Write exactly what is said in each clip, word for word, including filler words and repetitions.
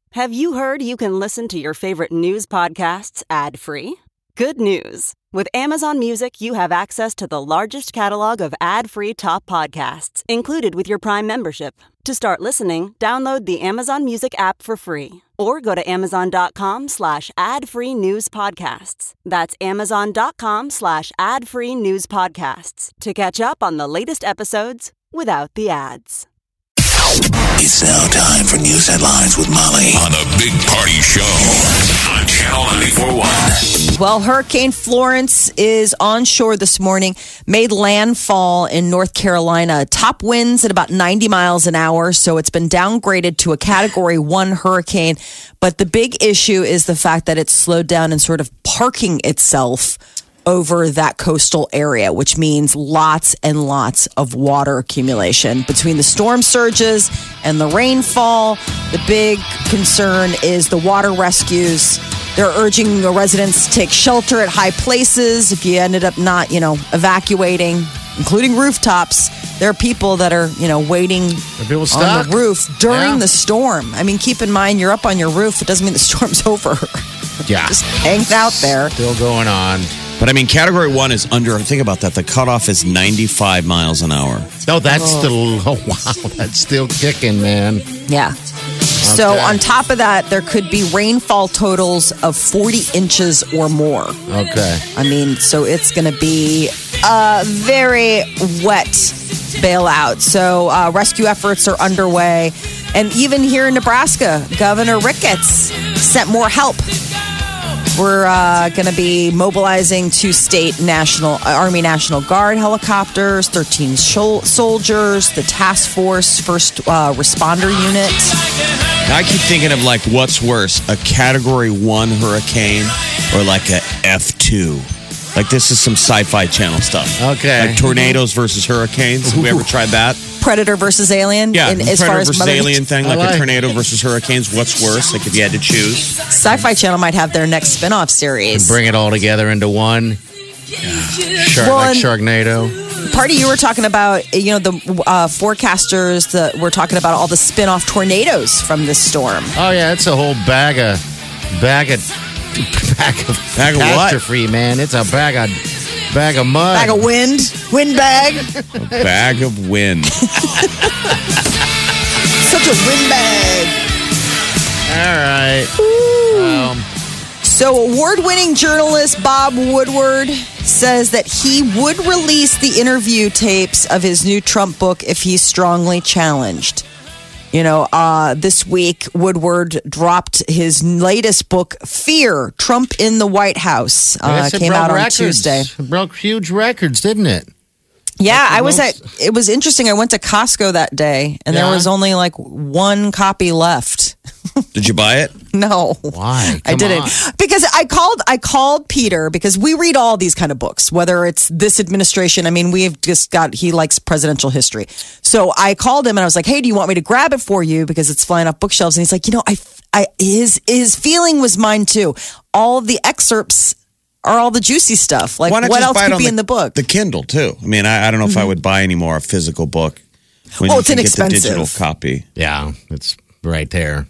Have you heard you can listen to your favorite news podcasts ad-free? Good news. With Amazon Music, you have access to the largest catalog of ad-free top podcasts included with your Prime membership. To start listening, download the Amazon Music app for free or go to amazon.com slash ad-free news podcasts. That's amazon.com slash ad-free news podcasts to catch up on the latest episodes without the ads. It's now time for news headlines with Molly on the Big Party Show on Channel ninety-four point one. Well, Hurricane Florence is onshore this morning, made landfall in North Carolina. Top winds at about ninety miles an hour, so it's been downgraded to a Category one hurricane. But the big issue is the fact that it's slowed down and sort of parking itself over that coastal area, which means lots and lots of water accumulation. Between the storm surges and the rainfall, the big concern is the water rescues. They're urging residents to take shelter at high places. If you ended up not, you know, evacuating, including rooftops, there are people that are, you know, waiting people on the roof during Yeah. the storm. I mean, keep in mind, you're up on your roof. It doesn't mean the storm's over. Yeah. Just hangs out there. Still going on. But I mean, Category one is under, think about that, the cutoff is ninety-five miles an hour. No, that's still, oh, wow. That's still kicking, man. Yeah. So Okay. on top of that, there could be rainfall totals of forty inches or more. Okay. I mean, so it's going to be a very wet bailout. So uh, rescue efforts are underway. And even here in Nebraska, Governor Ricketts sent more help. We're uh, going to be mobilizing two state National Army National Guard helicopters, thirteen shol- soldiers, the task force first uh, responder unit. Now, I keep thinking of like, what's worse, a Category one hurricane or like a F two? Like, this is some sci-fi channel stuff. Okay. Like tornadoes versus hurricanes. Have we ever tried that? Predator versus Alien. Yeah, in, the as Predator far as versus Mother Alien thing, like, like- a tornado versus hurricanes. What's worse? Like, if you had to choose. Sci-Fi Channel might have their next spin-off series. Bring it all together into one. Shark, Well, like and- Sharknado. Party, you were talking about, you know, the uh, forecasters that were talking about all the spin-off tornadoes from this storm. Oh, yeah. It's a whole bag of, bag of, bag of, Bag of what? catastrophe, man. It's a bag of, bag of mud. Bag of wind, wind bag, Bag of wind. such a wind bag. All right. Um, So, award-winning journalist Bob Woodward says that he would release the interview tapes of his new Trump book if he's strongly challenged. You know, uh, this week, Woodward dropped his latest book, Fear, Trump in the White House. I Uh, guess it came broke out on records. Tuesday. It broke huge records, didn't it? Yeah, That's the I was most- at, it was interesting. I went to Costco that day and there Yeah? was only like one copy left. Did you buy it? No. Why? I Come didn't on. because I called I called Peter because we read all these kind of books, whether it's this administration. I mean, we've just got he likes presidential history. So I called him and I was like, "Hey, do you want me to grab it for you because it's flying off bookshelves?" And he's like, "You know, I I his his feeling was mine too. All of the excerpts are all the juicy stuff. Like Why not what just else buy it could on be the, in the book?" The Kindle, too. I mean, I, I don't know if I would buy any more a physical book. When Well, you it's can inexpensive. Get the digital copy. Yeah, it's right there.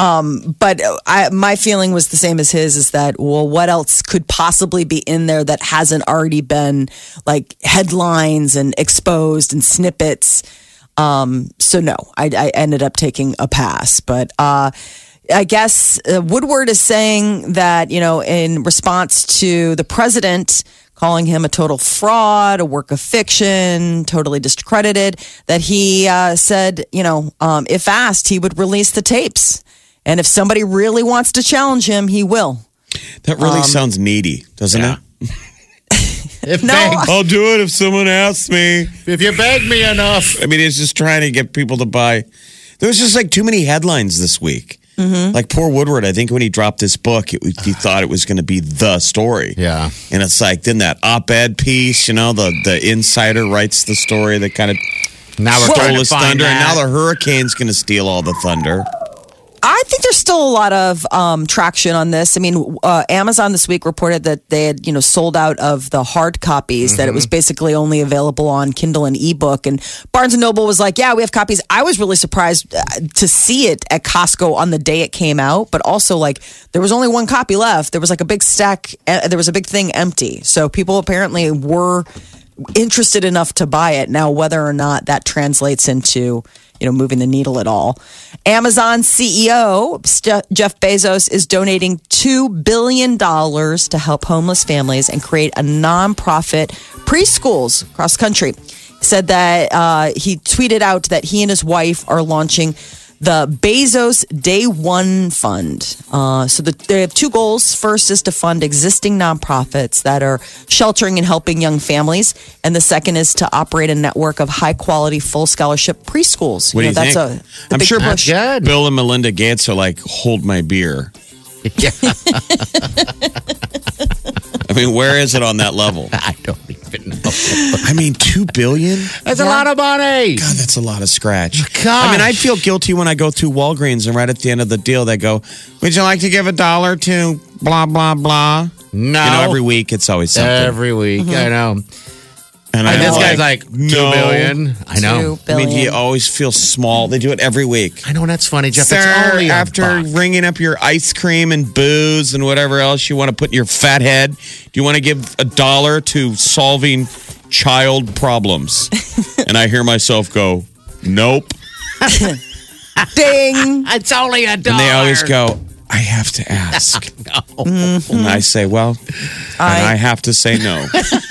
But I, my feeling was the same as his is that, well, what else could possibly be in there that hasn't already been like headlines and exposed and snippets? Um, so no, I, I ended up taking a pass. But uh, I guess uh, Woodward is saying that, you know, in response to the president calling him a total fraud, a work of fiction, totally discredited, that he uh, said, you know, um, if asked, he would release the tapes. And if somebody really wants to challenge him, he will. That really sounds needy, doesn't yeah. it? If, No, beg, I'll do it if someone asks me. if you beg me enough. I mean, it's just trying to get people to buy. There was just like too many headlines this week. Mm-hmm. Like poor Woodward, I think when he dropped this book, it, he thought it was going to be the story. Yeah. And it's like, then that op-ed piece, you know, the, the insider writes the story that kind of Now we're stole trying to his find thunder. And now that. the hurricane's going to steal all the thunder. I think there's still a lot of um, traction on this. I mean, uh, Amazon this week reported that they had, you know, sold out of the hard copies, mm-hmm. that it was basically only available on Kindle and ebook. And Barnes and Noble was like, yeah, we have copies. I was really surprised to see it at Costco on the day it came out, but also like there was only one copy left. There was like a big stack. Uh, there was a big thing empty. So people apparently were interested enough to buy it. Now, whether or not that translates into you know, moving the needle at all. Amazon C E O St- Jeff Bezos is donating two billion dollars to help homeless families and create a nonprofit preschools across the country. He said that uh, he tweeted out that he and his wife are launching the Bezos Day One Fund. Uh, so the, they have two goals. First is to fund existing nonprofits that are sheltering and helping young families. And the second is to operate a network of high quality, full scholarship preschools. What you do you know, that's think? A, I'm sure push. Bill and Melinda Gates are like, hold my beer. Yeah. I mean, where is it on that level? I don't even know. I mean, two billion? That's Yeah. a lot of money. God, that's a lot of scratch. Gosh. I mean, I feel guilty when I go through Walgreens and right at the end of the deal, they go, would you like to give a dollar to blah, blah, blah? No. You know, every week it's always something. Every week, Mm-hmm. I know. and And this I'm guy's like, two no. billion. I know. Two I mean, billion. you always feel small. They do it every week. I know, and that's funny, Jeff. Sir, it's only a after buck. ringing up your ice cream and booze and whatever else you want to put in your fat head, do you want to give a dollar to solving child problems? And I hear myself go, nope. Ding. It's only a dollar. And they always go, I have to ask. No. And I say, well, I- and I have to say no.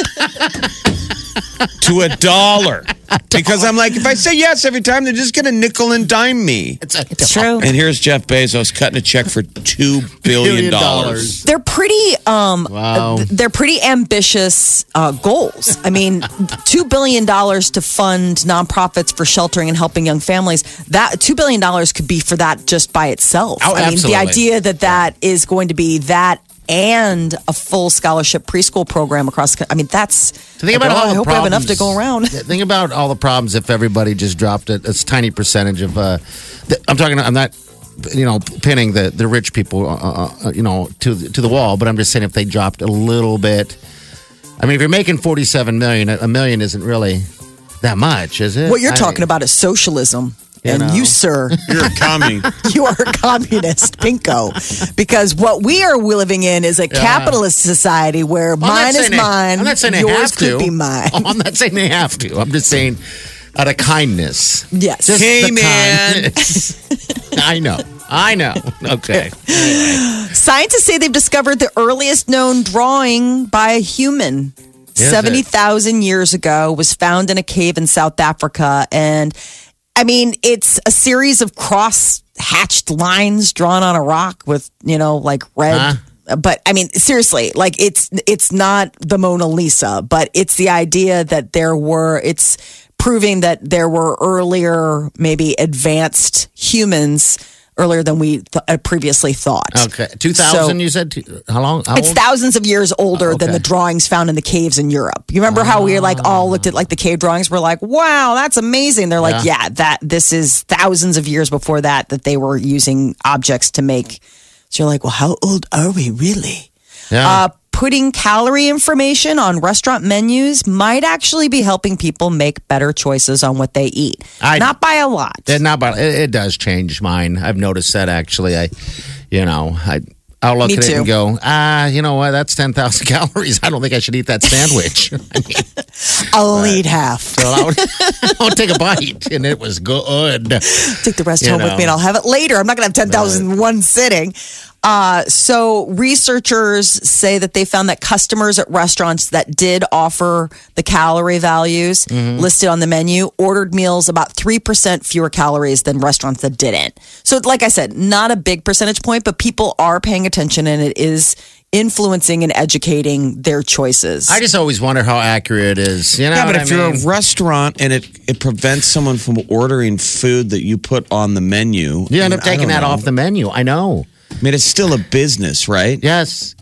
To a dollar. Because I'm like, if I say yes every time, they're just going to nickel and dime me. It's, a It's true. And here's Jeff Bezos cutting a check for two billion dollars. They're pretty um Wow. uh, they're pretty ambitious uh, goals. I mean, two billion dollars to fund nonprofits for sheltering and helping young families. That two billion dollars could be for that just by itself. Oh, I mean, absolutely. the idea that that is going to be that and a full scholarship preschool program across the, I mean, that's Think about well, all I the hope we have enough to problems. go around. Think about all the problems if everybody just dropped a, a tiny percentage of. Uh, the, I'm talking. I'm not, you know, pinning the, the rich people, uh, uh, you know, to the, to the wall. But I'm just saying if they dropped a little bit. I mean, if you're making forty-seven million, a million isn't really that much, is it? What you're I- talking about is socialism. You and know. you, sir, You're a commie. you are a communist, pinko. Because what we are living in is a capitalist society where I'm not mine is saying they- mine. I'm not saying they yours have to. could be mine. Oh, I'm not saying they have to. I'm just saying out of kindness. Yes. Just Hey, the man. kindness. I know. I know. Okay. Scientists say they've discovered the earliest known drawing by a human. Is seventy it? thousand years ago, was found in a cave in South Africa. And I mean, it's a series of cross hatched lines drawn on a rock with, you know, like red. Huh? But I mean, seriously, like it's it's not the Mona Lisa, but it's the idea that there were, it's proving that there were earlier, maybe advanced humans earlier than we th- uh, previously thought. Okay. two thousand, So- you said? Two- How long? How It's old? thousands of years older Oh, than okay. the drawings found in the caves in Europe. You remember how we like all looked at like the cave drawings? We're like, wow, that's amazing. They're like, Yeah. yeah, that this is thousands of years before that that they were using objects to make. So you're like, well, how old are we really? Yeah. Uh, putting calorie information on restaurant menus might actually be helping people make better choices on what they eat. I- Not by a lot. It, not about, it, it does change mine. I've noticed that actually. I, you know, I, I'll look Me at it too. and go, ah, you know what? That's ten thousand calories. I don't think I should eat that sandwich. I mean, I'll eat half. so I'll, I'll take a bite, and it was good. Take the rest You home with know. me and I'll have it later. I'm not going to have ten thousand in one sitting. Uh, so researchers say that they found that customers at restaurants that did offer the calorie values Mm-hmm. listed on the menu ordered meals about three percent fewer calories than restaurants that didn't. So like I said, not a big percentage point, but people are paying attention and it is influencing and educating their choices. I just always wonder how accurate it is. You know Yeah, but what if I you're mean? a restaurant and it, it prevents someone from ordering food that you put on the menu, you end I up mean, I taking don't that know. off the menu. I know. I mean, it's still a business, right? Yes.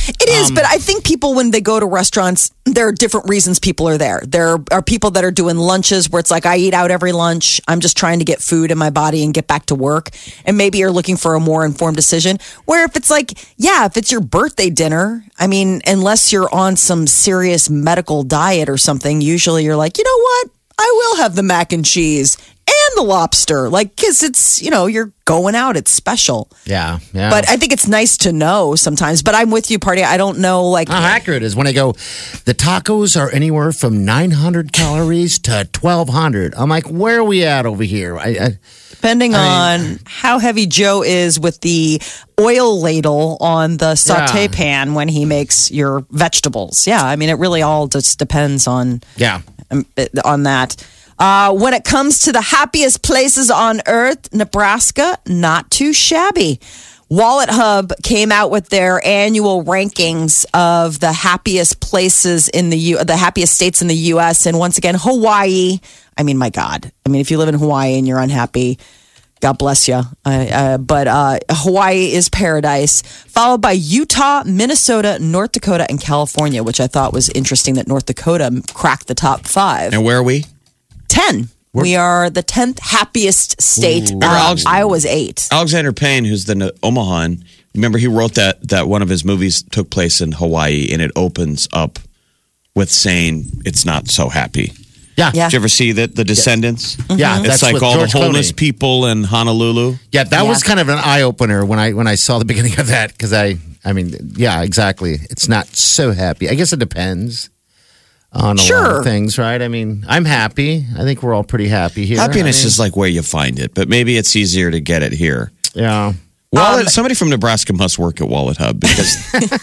It is, um, but I think people, when they go to restaurants, there are different reasons people are there. There are people that are doing lunches where it's like, I eat out every lunch. I'm just trying to get food in my body and get back to work. And maybe you're looking for a more informed decision. Where if it's like, yeah, if it's your birthday dinner, I mean, unless you're on some serious medical diet or something, usually you're like, you know what? I will have the mac and cheese and the lobster. Like, because it's, you know, you're going out. It's special. Yeah, yeah. But I think it's nice to know sometimes. But I'm with you, Party. I don't know, like... How accurate is when I go, the tacos are anywhere from nine hundred calories to twelve hundred. I'm like, where are we at over here? I, I, Depending I on how heavy Joe is with the oil ladle on the saute Yeah. pan when he makes your vegetables. Yeah, I mean, it really all just depends on... Yeah. on that. Uh, when it comes to the happiest places on earth, Nebraska, not too shabby. Wallet Hub came out with their annual rankings of the happiest places in the U, the happiest states in the U S. And once again, Hawaii. I mean, my God. I mean, if you live in Hawaii and you're unhappy, God bless you. Uh, uh, but uh, Hawaii is paradise, followed by Utah, Minnesota, North Dakota, and California, which I thought was interesting that North Dakota cracked the top five. And where are we? ten. We're- we are the tenth happiest state. Uh, Alex- Iowa's eight. Alexander Payne, who's the Omahan, remember he wrote that that one of his movies took place in Hawaii, and it opens up with saying it's not so happy. Yeah. Yeah. Did you ever see that The Descendants? Mm-hmm. Yeah, It's that's like with all George the homeless Clooney. people in Honolulu. Yeah, that Yeah. was kind of an eye opener when I when I saw the beginning of that because I I mean yeah exactly it's not so happy. I guess it depends on a lot Sure. of things, right? I mean, I'm happy. I think we're all pretty happy here. Happiness I mean, is like where you find it, but maybe it's easier to get it here. yeah. Wallet, Um, somebody from Nebraska must work at Wallet Hub because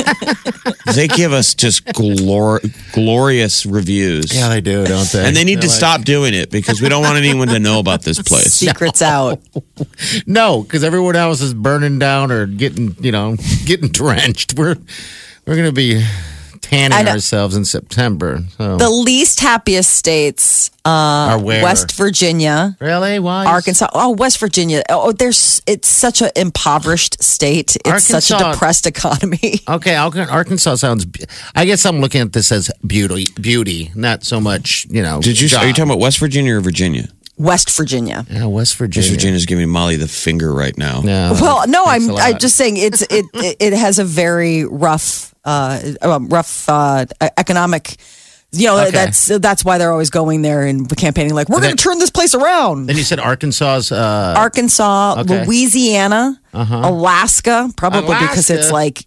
they give us just glor- glorious reviews. Yeah, they do, don't they? And they need They're to like- stop doing it because we don't want anyone to know about this place. Secrets out. No, because everyone else is burning down or getting, you know, getting drenched. We're we're gonna be tanning I know. ourselves in September. So. The least happiest states, uh, Are where? West Virginia, Really? Why? Arkansas. Oh, West Virginia. Oh, there's. It's such an impoverished state. It's such a Arkansas- depressed economy. Okay, Arkan- Arkansas sounds. be- I guess I'm looking at this as beauty, beauty, not so much, you know. Did you? job. Are you talking about West Virginia or Virginia? West Virginia. Yeah, West Virginia. West Virginia's giving Molly the finger right now. Yeah. Well, no, Thanks I'm. a lot. I'm just saying it's. It. It, it has a very rough. Uh, um, rough uh, economic. You know, Okay. that's that's why they're always going there and campaigning. Like, we're then- going to turn this place around. Then you said Arkansas's. Uh, Arkansas, Okay. Louisiana, Alaska, probably because it's Alaska. like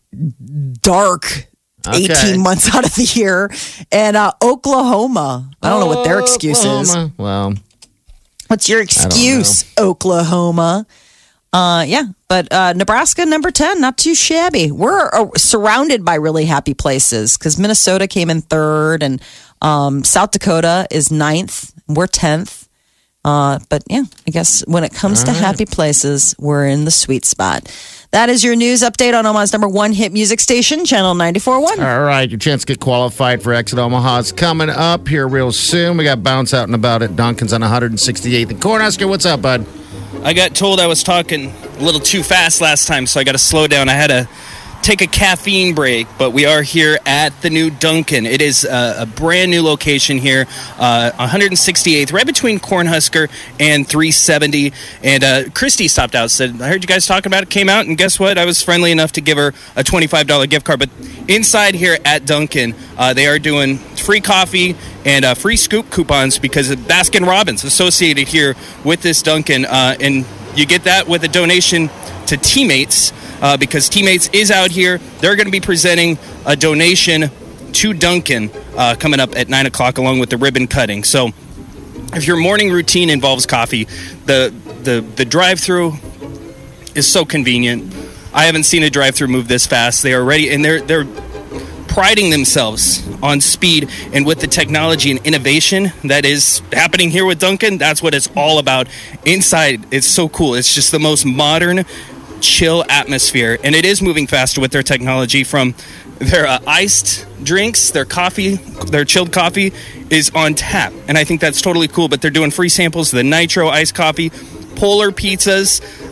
dark Okay. eighteen months out of the year, and uh, Oklahoma. I don't know what their excuse is. Oklahoma. Well, What's your excuse, Oklahoma? Uh, yeah, but uh, Nebraska, number ten, not too shabby. We're uh, surrounded by really happy places because Minnesota came in third, and um, South Dakota is ninth. We're tenth. Uh, but yeah, I guess when it comes to happy places, we're in the sweet spot. That is your news update on Omaha's number one hit music station, Channel ninety-four point one. all right. Your chance to get qualified for Exit Omaha is coming up here real soon. We got Bounce Out and About at Duncan's on one sixty-eighth and Cornhusker. What's up, bud? I got told I was talking a little too fast last time, so I got to slow down. I had to take a caffeine break, but we are here at the new Dunkin'. It is a, a brand new location here, uh, one sixty-eighth, right between Cornhusker and three seventy. And uh, Christy stopped out, said, I heard you guys talking about it, came out, and guess what? I was friendly enough to give her a twenty-five dollars gift card. But inside here at Dunkin', uh, they are doing free coffee and uh, free scoop coupons because of Baskin Robbins associated here with this Dunkin'. Uh, and you get that with a donation to Teammates uh, because Teammates is out here. They're going to be presenting a donation to Dunkin' uh, coming up at nine o'clock along with the ribbon cutting. So if your morning routine involves coffee, the the, the drive-through is so convenient. I haven't seen a drive-through move this fast. They are ready, and they're they're priding themselves on speed and with the technology and innovation that is happening here with Dunkin'. That's what it's all about. Inside, it's so cool. It's just the most modern, chill atmosphere, and it is moving faster with their technology. From their uh, iced drinks, their coffee, their chilled coffee is on tap, and I think that's totally cool. But they're doing free samples of the Nitro iced coffee, Polar pizzas,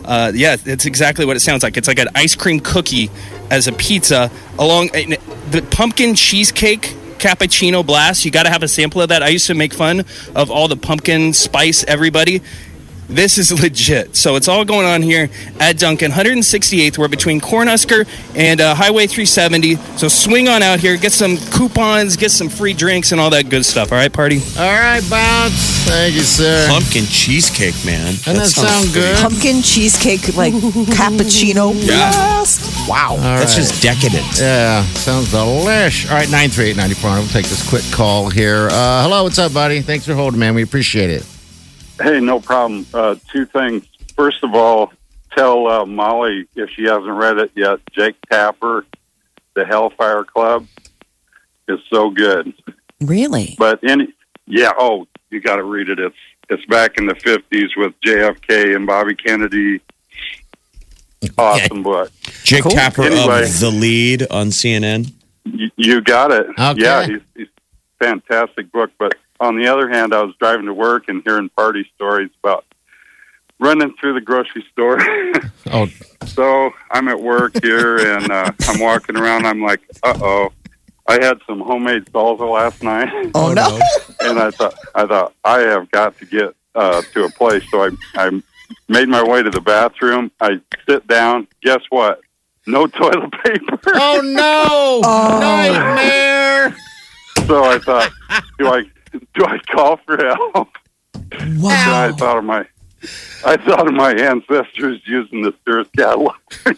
Uh, yeah, it's exactly what it sounds like. It's like an ice cream cookie as a pizza. Along the pumpkin cheesecake cappuccino blast. You got to have a sample of that. I used to make fun of all the pumpkin spice everybody. This is legit. So it's all going on here at Dunkin', one hundred sixty-eighth. We're between Cornhusker and uh, Highway three seventy. So swing on out here, get some coupons, get some free drinks, and all that good stuff. All right, party? All right, Bounce. Thank you, sir. Pumpkin cheesecake, man. Doesn't that, that sound good? Pumpkin cheesecake, like cappuccino yeah. blast. Wow. All That's right. just decadent. Yeah, sounds delish. All right, nine three eight, nine four hundred. We'll take this quick call here. Uh, hello, what's up, buddy? Thanks for holding, man. We appreciate it. Hey, no problem. Uh, two things. First of all, tell uh, Molly, if she hasn't read it yet, Jake Tapper, The Hellfire Club, is so good. Really? But any, yeah, oh, you got to read it. It's it's back in the fifties with J F K and Bobby Kennedy. Awesome book. Jake Cool. Tapper Anyway. of The Lead on C N N. You, you got it. Okay. Yeah, he's, he's fantastic book. But on the other hand, I was driving to work and hearing party stories about running through the grocery store. Oh, So I'm at work here, and uh, I'm walking around. I'm like, uh-oh. I had some homemade salsa last night, Oh, no. and I thought, I thought I have got to get uh, to a place. So I, I made my way to the bathroom. I sit down. Guess what? No toilet paper. oh no! Oh. Nightmare! So I thought, do I do I call for help? And I Wow. thought of my, I thought of my ancestors using the Sears catalog.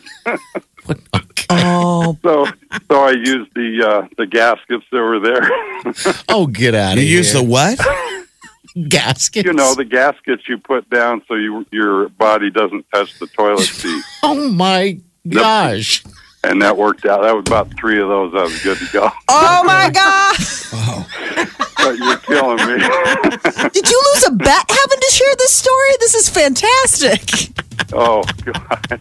Oh, So, so I used the uh, the gaskets that were there. Oh, get out You of here! use the what? gaskets. You know, the gaskets you put down so you, your body doesn't touch the toilet seat. Oh my gosh! And that worked out. That was about three of those. I was good to go. oh my God. But you're killing me. Did you lose a bet having to share this story? This is fantastic. Oh, God.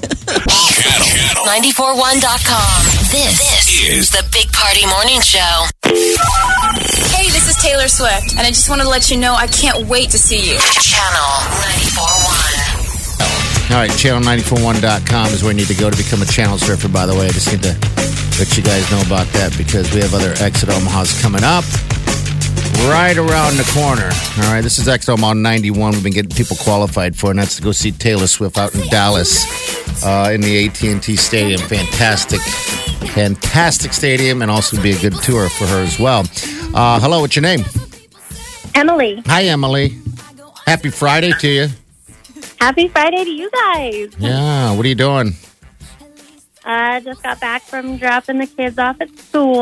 Channel ninety-four one dot com. This, this is the Big Party Morning Show. Hey, this is Taylor Swift, and I just wanted to let you know I can't wait to see you. Channel ninety-four one. All right, channel nine four one dot com is where you need to go to become a channel surfer, by the way. I just need to let you guys know about that because we have other Exit Omahas coming up right around the corner. All right, this is Exit Omaha ninety-one. We've been getting people qualified for, and that's to go see Taylor Swift out in Dallas uh, in the A T and T Stadium. Fantastic, fantastic stadium, and also be a good tour for her as well. Uh, hello, what's your name? Emily. Hi, Emily. Happy Friday to you. Happy Friday to you guys. Yeah, what are you doing? I uh, just got back from dropping the kids off at school.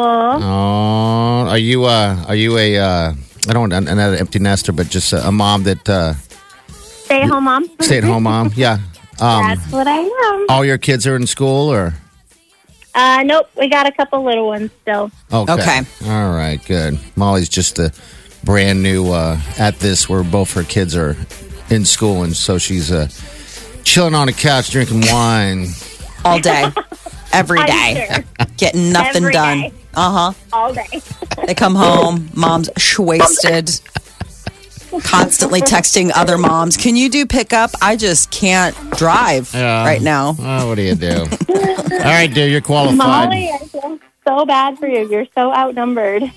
Oh, are you uh are you a uh I don't I'm not an empty nester, but just a, a mom that uh Stay at home mom. stay at home mom? Yeah. Um That's what I am. all your kids are in school or Uh, nope, we got a couple little ones still. okay. Okay. All right, good. Molly's just a brand new uh at this where both her kids are in school and so she's uh chilling on the couch drinking wine. All day. Every I'm day. sure. Getting nothing Every done. day. Uh-huh. All day. They come home, mom's wasted, constantly texting other moms. Can you do pickup? I just can't drive Yeah. right now. Oh, what do you do? All right, dear, you're qualified. Molly, I feel so bad for you. You're so outnumbered.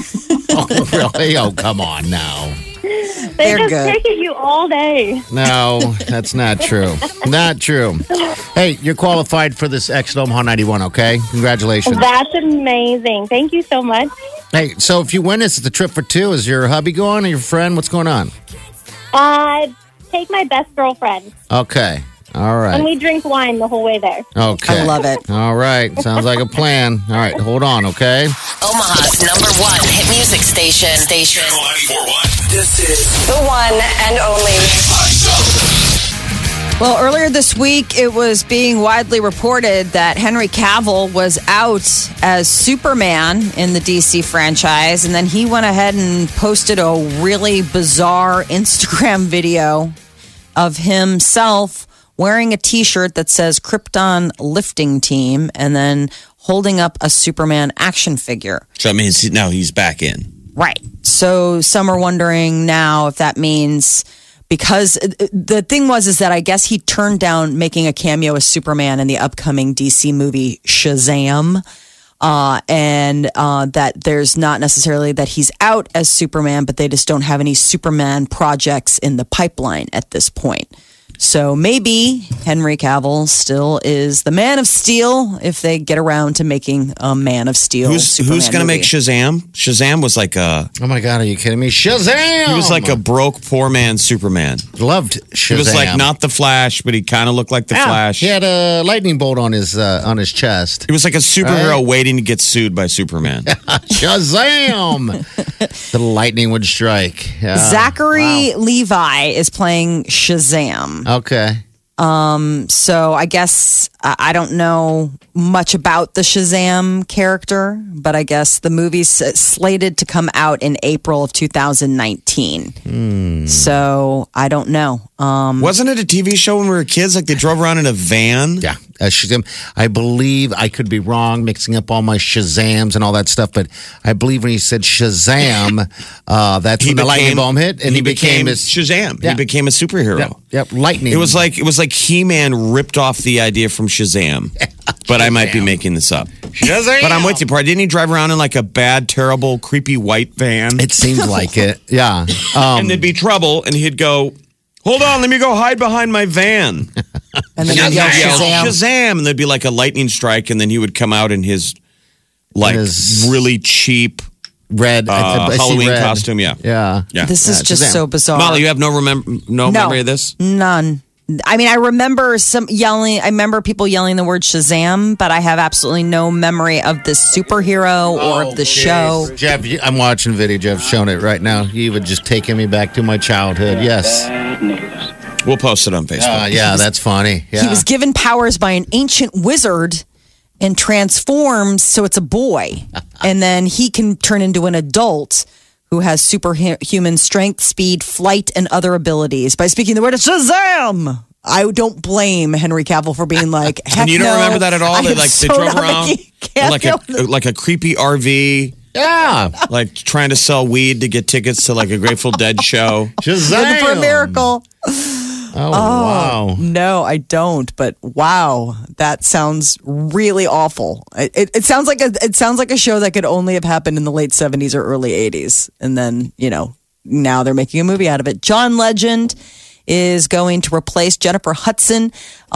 Oh, really? Oh, come on now. They They're just good. pick at you all day. No, that's not true. Not true. Hey, you're qualified for this Exit Omaha ninety-one, okay? Congratulations. That's amazing. Thank you so much. Hey, so if you win this, it's a trip for two. Is your hubby going or your friend? What's going on? Uh, take my best girlfriend, Okay. All and right. we drink wine the whole way there. Okay. I love it. All right. Sounds like a plan. All right. Hold on, okay? Omaha's number one hit music station. Station. Channel ninety-four point one. This is The one and only. Well, earlier this week, it was being widely reported that Henry Cavill was out as Superman in the D C franchise. And then he went ahead and posted a really bizarre Instagram video of himself wearing a T-shirt that says Krypton Lifting Team and then holding up a Superman action figure. So that means he- now he's back in. Right. So some are wondering now if that means because the thing was is that I guess he turned down making a cameo as Superman in the upcoming D C movie Shazam. Uh, and uh, that there's not necessarily that he's out as Superman, but they just don't have any Superman projects in the pipeline at this point. So maybe Henry Cavill still is the Man of Steel if they get around to making a Man of Steel. Who's, who's going to make Shazam? Shazam was like a... Oh my God, are you kidding me? Shazam! He was like a broke, poor man Superman. Loved Shazam. He was like not the Flash, but he kind of looked like the yeah, Flash. He had a lightning bolt on his uh, on his chest. He was like a superhero right? waiting to get sued by Superman. Shazam! The lightning would strike. Yeah. Zachary wow. Levi is playing Shazam. Okay. Um, so I guess I I don't know much about the Shazam character, but I guess the movie's slated to come out in April of two thousand nineteen. Hmm. So I don't know. Um, Wasn't it a T V show when we were kids? Like they drove around in a van? Yeah. Uh, Shazam. I believe, I could be wrong, mixing up all my Shazams and all that stuff, but I believe when he said Shazam, uh, that's He when the lightning became- bomb hit, and he he, became, became his Shazam. Yeah. He became a superhero. Yep, yep, lightning. It was like it was like He-Man ripped off the idea from Shazam. But I might be making this up. Shazam! But I'm with you, part. Didn't he drive around in like a bad, terrible, creepy white van? It seemed like it. Yeah. Um, and there'd be trouble, and he'd go, "Hold on, let me go hide behind my van." and then And you he'd yell yell, Shazam. Shazam! And there'd be like a lightning strike, and then he would come out in his like His- really cheap red uh, I, I see Halloween red. costume. Yeah, Yeah. yeah. This is Yeah, just Shazam. so bizarre. Molly, you have no remember no, No. memory of this? None. I mean, I remember some yelling. I remember people yelling the word Shazam, but I have absolutely no memory of this superhero or of the show. Jeff, you- I'm watching video. Jeff's showing it right now. You would just taking me back to my childhood. Yes. We'll post it on Facebook. Uh, yeah, that's funny. Yeah. He was given powers by an ancient wizard and transforms so it's a boy. And then he can turn into an adult who has superhuman strength, speed, flight, and other abilities by speaking the word Shazam. I don't blame Henry Cavill for being like, heck And you don't no. remember that at all? I They am like they so drove not around making in like a cameo. like a creepy R V, yeah. like trying to sell weed to get tickets to like a Grateful Dead show. Shazam. Looking for a miracle. Oh, wow. No, I don't. But wow, that sounds really awful. It, it, it sounds like a it sounds like a show that could only have happened in the late seventies or early eighties, and then you know now they're making a movie out of it. John Legend is going to replace Jennifer Hudson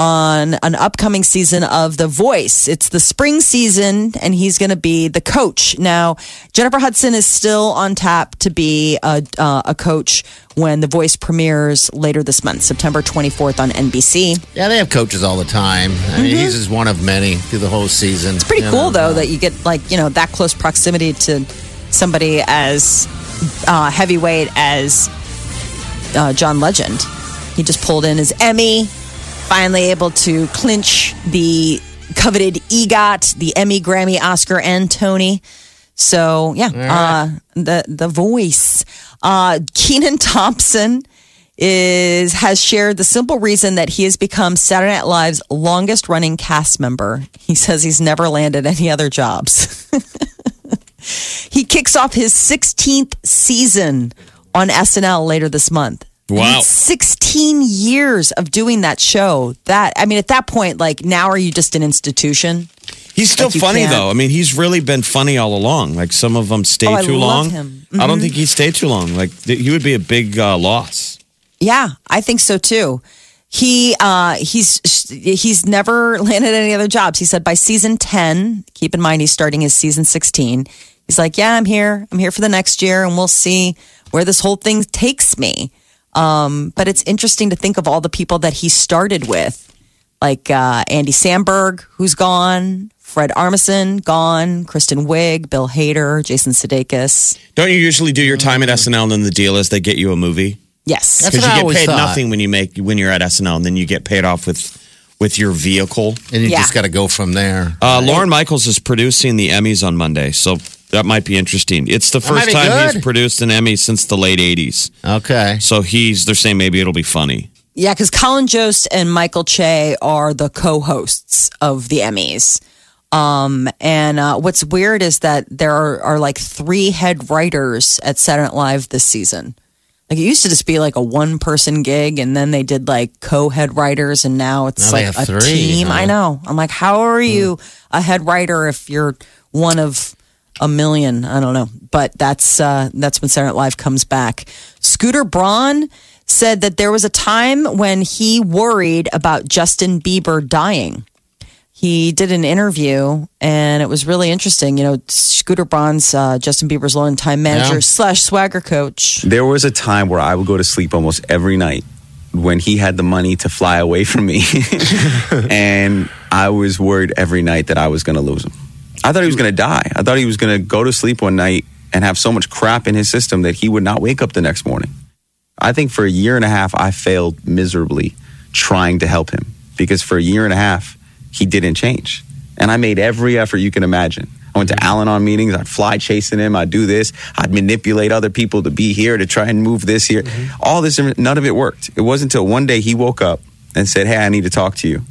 on an upcoming season of The Voice. It's the spring season, and he's going to be the coach. Now, Jennifer Hudson is still on tap to be a, uh, a coach when The Voice premieres later this month, September twenty-fourth on N B C. Yeah, they have coaches all the time. I mean, he's just one of many through the whole season. It's pretty You cool, know? though, that you get like, you know, that close proximity to somebody as uh, heavyweight as uh, John Legend. He just pulled in his Emmy, finally able to clinch the coveted EGOT, the Emmy, Grammy, Oscar, and Tony. So, yeah, uh, the the Voice. Uh, Kenan Thompson is has shared the simple reason that he has become Saturday Night Live's longest running cast member. He says he's never landed any other jobs. He kicks off his sixteenth season on S N L later this month. Wow. It's sixteen years of doing that show. That I mean, at that point, like now, are you just an institution? He's still Like you funny can't- though. I mean, he's really been funny all along. Like some of them stay Oh, I too love long. him. I don't Mhm. think he stayed too long. Like th- he would be a big uh, loss. Yeah, I think so too. He uh, he's he's never landed any other jobs. He said by season ten, keep in mind he's starting his season sixteen. He's like, yeah, I'm here. I'm here for the next year, and we'll see where this whole thing takes me. Um, but it's interesting to think of all the people that he started with, like uh, Andy Samberg, who's gone, Fred Armisen, gone, Kristen Wiig, Bill Hader, Jason Sudeikis. Don't you usually do your time at S N L and then the deal is they get you a movie? Yes, That's Because what you I get always paid thought. nothing when you make when you're at S N L, and then you get paid off with with your vehicle. And you Yeah. just got to go from there. Uh, Lauren Michaels is producing the Emmys on Monday, so that might be interesting. It's the That might first be time good. he's produced an Emmy since the late eighties. Okay. So he's they're saying maybe it'll be funny. Yeah, because Colin Jost and Michael Che are the co-hosts of the Emmys. Um, and uh, what's weird is that there are, are like three head writers at Saturday Night Live this season. Like it used to just be like a one person gig, and then they did like co-head writers, and now it's Now they like have a three, team. huh? I know. I'm like, how are you a head writer if you're one of a million? I don't know, but that's uh, that's when Saturday Night Live comes back. Scooter Braun said that there was a time when he worried about Justin Bieber dying. He did an interview, and it was really interesting. You know, Scooter Braun's uh, Justin Bieber's longtime manager Yeah. slash swagger coach. There was a time where I would go to sleep almost every night when he had the money to fly away from me. And I was worried every night that I was going to lose him. I thought he was going to die. I thought he was going to go to sleep one night and have so much crap in his system that he would not wake up the next morning. I think for a year and a half, I failed miserably trying to help him because for a year and a half, he didn't change. And I made every effort you can imagine. I went to Al-Anon meetings. I'd fly chasing him. I'd do this. I'd manipulate other people to be here to try and move this here. Mm-hmm. All this, none of it worked. It wasn't until one day he woke up and said, hey, I need to talk to you.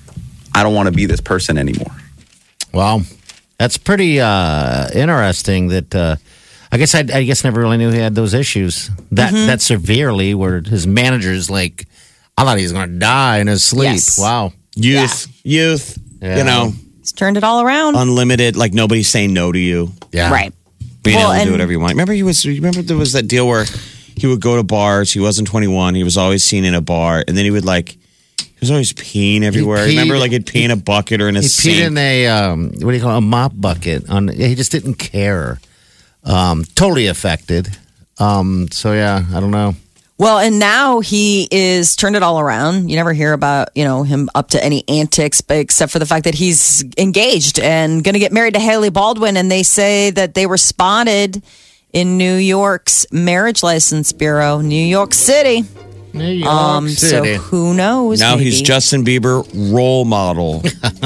I don't want to be this person anymore. Wow. That's pretty uh, interesting that uh, I guess I, I guess never really knew he had those issues that, Mm-hmm. that severely where his manager's like, I thought he was going to die in his sleep. Yes. Wow. Youth, youth, Yeah. you know, He's turned it all around. unlimited. Like nobody's saying no to you. Yeah. Right. Being Well, able to do and- whatever you want. Remember, he was. Remember, there was that deal where he would go to bars. He wasn't twenty-one. He was always seen in a bar, and then he would like. He was always peeing everywhere. peed- Remember, like he'd pee in a bucket or in a He sink. peed in a, um, what do you call it, a mop bucket. On He just didn't care. Um, totally affected. Um, so, yeah, I don't know. Well, and now he is turned it all around. You never hear about, you know, him up to any antics, but except for the fact that he's engaged and going to get married to Haley Baldwin. And they say that they were spotted in New York's Marriage License Bureau, New York City. New York Um, City. so who knows? now maybe. he's Justin Bieber role model.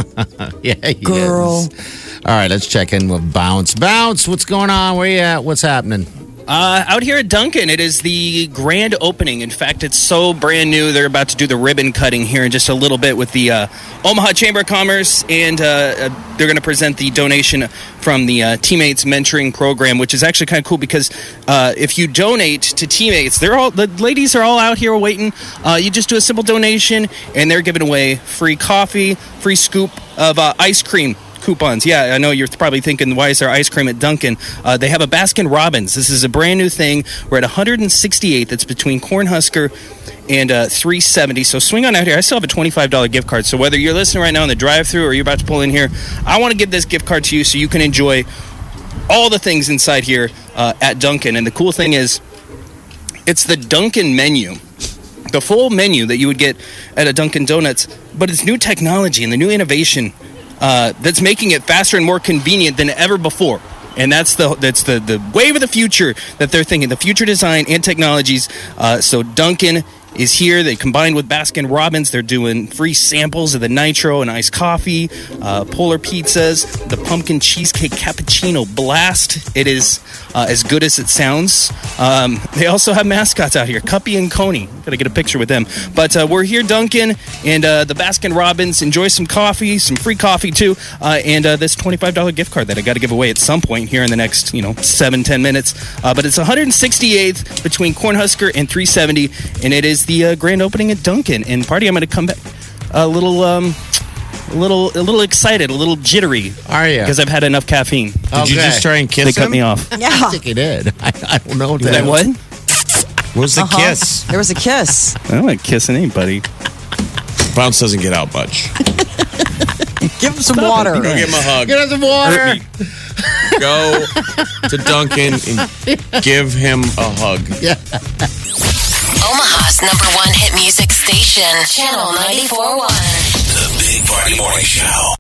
Yeah, he Girl. is. All right, let's check in with Bounce. Bounce, what's going on? Where you at? What's happening? Uh, out here at Dunkin', it is the grand opening. In fact, it's so brand new, they're about to do the ribbon cutting here in just a little bit with the uh, Omaha Chamber of Commerce, and uh, uh, they're going to present the donation from the uh, Teammates Mentoring Program, which is actually kind of cool because uh, if you donate to Teammates, they're all the ladies are all out here waiting. Uh, you just do a simple donation, and they're giving away free coffee, free scoop of uh, ice cream. Coupons. Yeah, I know you're probably thinking, why is there ice cream at Dunkin'? Uh, they have a Baskin Robbins. This is a brand new thing. We're at one hundred sixty-eighth. It's between Cornhusker and uh, three seventy. So swing on out here. I still have a twenty-five dollars gift card. So whether you're listening right now in the drive-thru or you're about to pull in here, I want to give this gift card to you so you can enjoy all the things inside here uh, at Dunkin'. And the cool thing is, it's the Dunkin' menu. The full menu that you would get at a Dunkin' Donuts, but it's new technology and the new innovation uh, that's making it faster and more convenient than ever before. And that's the that's the, the wave of the future that they're thinking, the future design and technologies. Uh, so Dunkin' is here. They combined with Baskin Robbins. They're doing free samples of the Nitro and iced coffee, uh, Polar Pizzas, the pumpkin cheesecake cappuccino blast. It is uh, as good as it sounds. Um, they also have mascots out here, Cuppy and Coney. Got to get a picture with them. But uh, we're here, Dunkin', and uh, the Baskin Robbins. Enjoy some coffee, some free coffee too, uh, and uh, this twenty-five dollars gift card that I got to give away at some point here in the next, you know, seven, ten minutes. Uh, but it's one hundred sixty-eighth between Cornhusker and three seventy, and it is the uh, grand opening at Dunkin'. And Party, I'm going to come back a little, um, a little, a little excited, a little jittery. Are you? Because I've had enough caffeine. Did you Okay. just try and kiss They him? cut me off. I Yeah. think he did. I, I don't know. Did I what? Where's the Uh-huh. kiss? There was a kiss. I don't like kissing anybody. Bounce doesn't get out much. Give him some water. Go give him a hug. Get us some water. Go to Dunkin' and give him a hug. Yeah. Omaha's number one hit music station, Channel ninety-four point one. The Big Party Morning Show.